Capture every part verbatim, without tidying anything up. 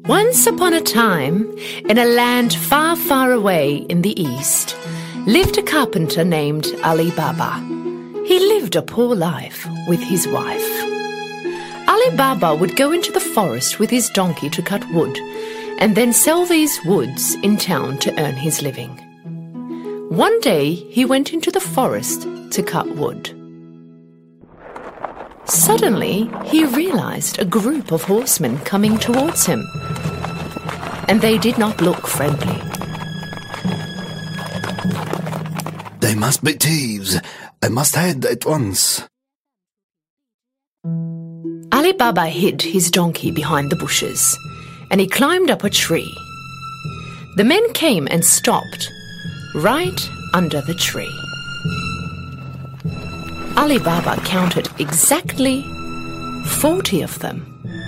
Once upon a time, in a land far, far away in the east, lived a carpenter named Ali Baba. He lived a poor life with his wife. Ali Baba would go into the forest with his donkey to cut wood, and then sell these woods in town to earn his living. One day he went into the forest to cut wood. Suddenly he realized a group of horsemen coming towards him, and they did not look friendly. They must be thieves. I must hide at once. Ali Baba hid his donkey behind the bushes, and he climbed up a tree. The men came and stopped right under the tree. Ali Baba counted exactly forty of them.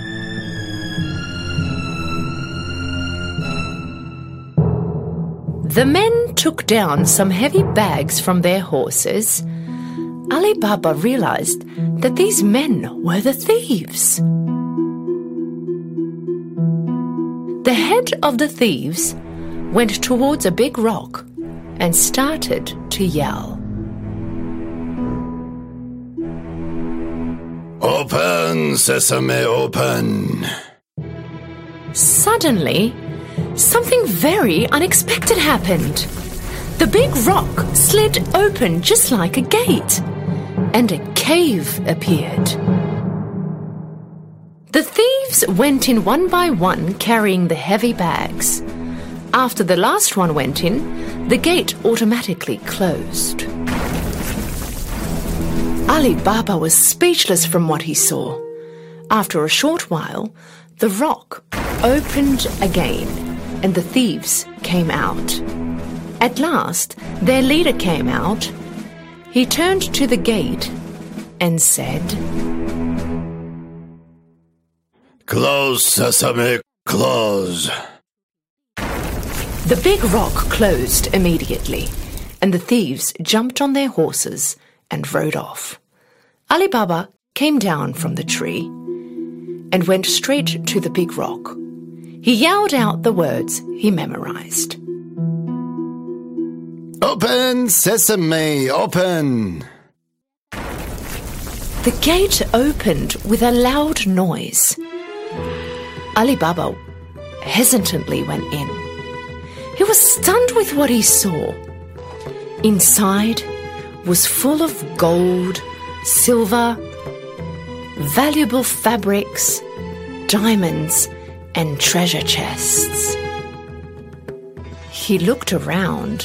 The men took down some heavy bags from their horses. Ali Baba realized that these men were the thieves. The head of the thieves went towards a big rock and started to yell. Open, sesame, open. Suddenly, something very unexpected happened. The big rock slid open just like a gate, and a cave appeared. The thieves went in one by one, carrying the heavy bags. After the last one went in, the gate automatically closed. Ali Baba was speechless from what he saw. After a short while, the rock opened again, and the thieves came out. At last, their leader came out. He turned to the gate and said, Close, sesame, close. The big rock closed immediately, and the thieves jumped on their horses and rode off. Ali Baba came down from the tree and went straight to the big rock. He yelled out the words he memorized. Open, sesame, open. The gate opened with a loud noise. Ali Baba hesitantly went in. He was stunned with what he saw. Inside was full of gold, silver, valuable fabrics, diamonds, and treasure chests. He looked around,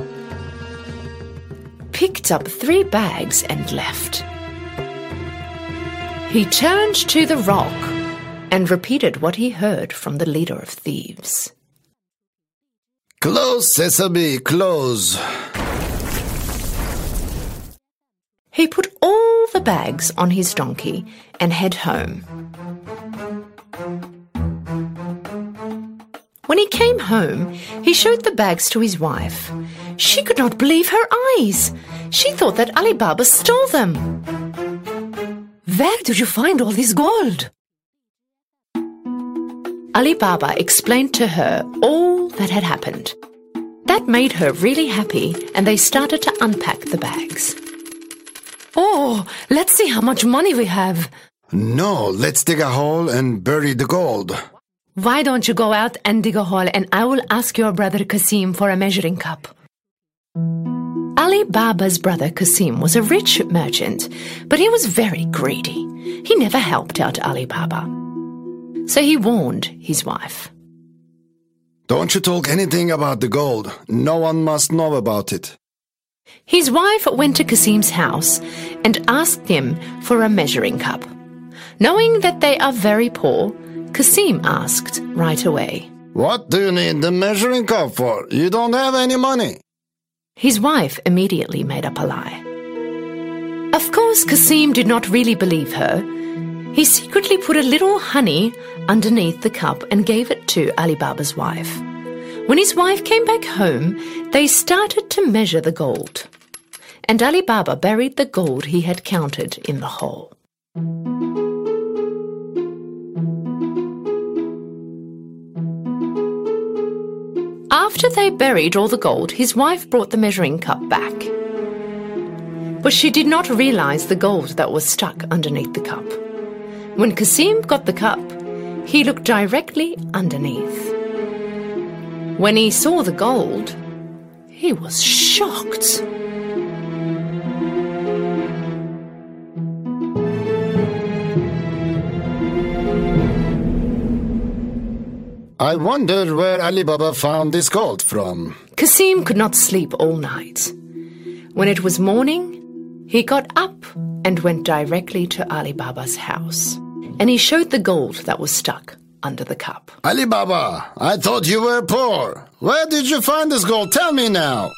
picked up three bags and left. He turned to the rock and repeated what he heard from the leader of thieves. Close, sesame, close. He put all the bags on his donkey and head home. When he came home, he showed the bags to his wife. She could not believe her eyes. She thought that Ali Baba stole them. Where did you find all this gold? Ali Baba explained to her all that had happened. That made her really happy, and they started to unpack the bags. Oh, let's see how much money we have. No, let's dig a hole and bury the gold. Why don't you go out and dig a hole, and I will ask your brother Kasim for a measuring cup. Ali Baba's brother Kasim was a rich merchant, but he was very greedy. He never helped out Ali Baba. So he warned his wife. Don't you talk anything about the gold. No one must know about it. His wife went to Kasim's house and asked him for a measuring cup. Knowing that they are very poor, Kasim asked right away, What do you need the measuring cup for? You don't have any money. His wife immediately made up a lie. Of course, Kasim did not really believe her. He secretly put a little honey underneath the cup and gave it to Ali Baba's wife. When his wife came back home, they started to measure the gold. And Ali Baba buried the gold he had counted in the hole. After they buried all the gold, his wife brought the measuring cup back. But she did not realize the gold that was stuck underneath the cup. When Cassim got the cup, he looked directly underneath. When he saw the gold, he was shocked. I wonder where Ali Baba found this gold from. Cassim could not sleep all night. When it was morning, he got up and went directly to Ali Baba's house. And he showed the gold that was stuck under the cup. Ali Baba, I thought you were poor. Where did you find this gold? Tell me now.